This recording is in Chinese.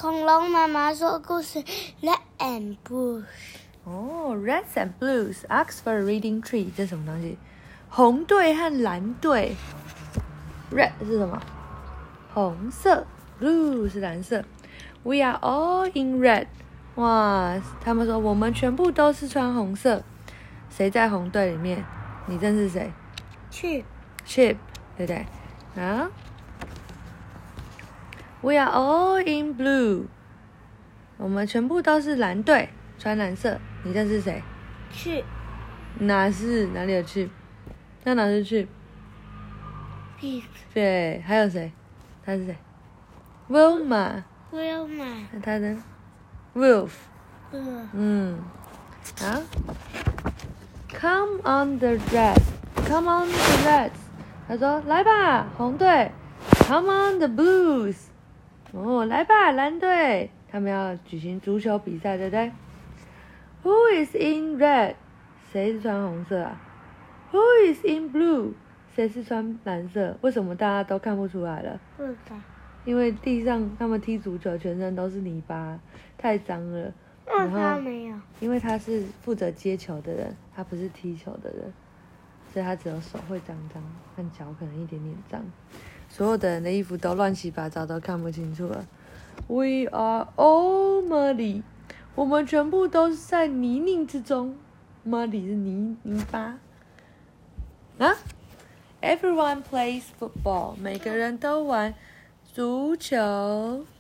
恐龙妈妈说故事 Red and Blue。 哦 ，Reds and Blues，Oxford Reading Tree， 这是什么东西？红队和蓝队。Red 是什么？红色。Blue 是蓝色。We are all in red。哇，他们说我们全部都是穿红色。谁在红队里面？你认识谁？Chip，对不对？啊 ？We are all in blue。我们全部都是蓝队，穿蓝色。你认识谁 ？Chip。 哪里有 Chip？ 那哪是 Chip？ 对，还有谁？他是谁 ？Wilma。那他呢 ？Wolf。好。Come on the Reds。Come on the Reds。他说：“来吧，红队。Come on the Blues。哦，来吧，蓝队。他们要举行足球比赛，对不对 ？Who is in red？ 谁是穿红色啊 ？Who is in blue？ 谁是穿蓝色？为什么大家都看不出来了？因为地上他们踢足球，全身都是泥巴，太脏了。然后他没有， 因为他是负责接球的人，他不是踢球的人，所以他只有手会脏脏，和脚可能一点点脏。所有的人的衣服都乱七八糟，都看不清楚了。We are all muddy。我们全部都是在泥泞之中。Muddy 是泥巴。啊 ？Everyone plays football。每个人都玩足球。